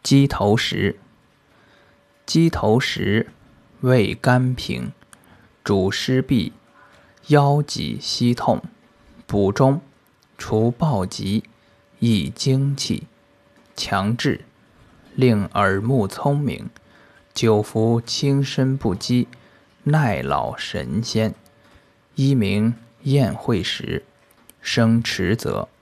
鸡头石。鸡头石味甘平，主湿痹，腰脊膝痛，补中，除暴疾，益精气，强志，令耳目聪明，久服轻身不饥，耐老神仙。一名宴会时，生迟泽。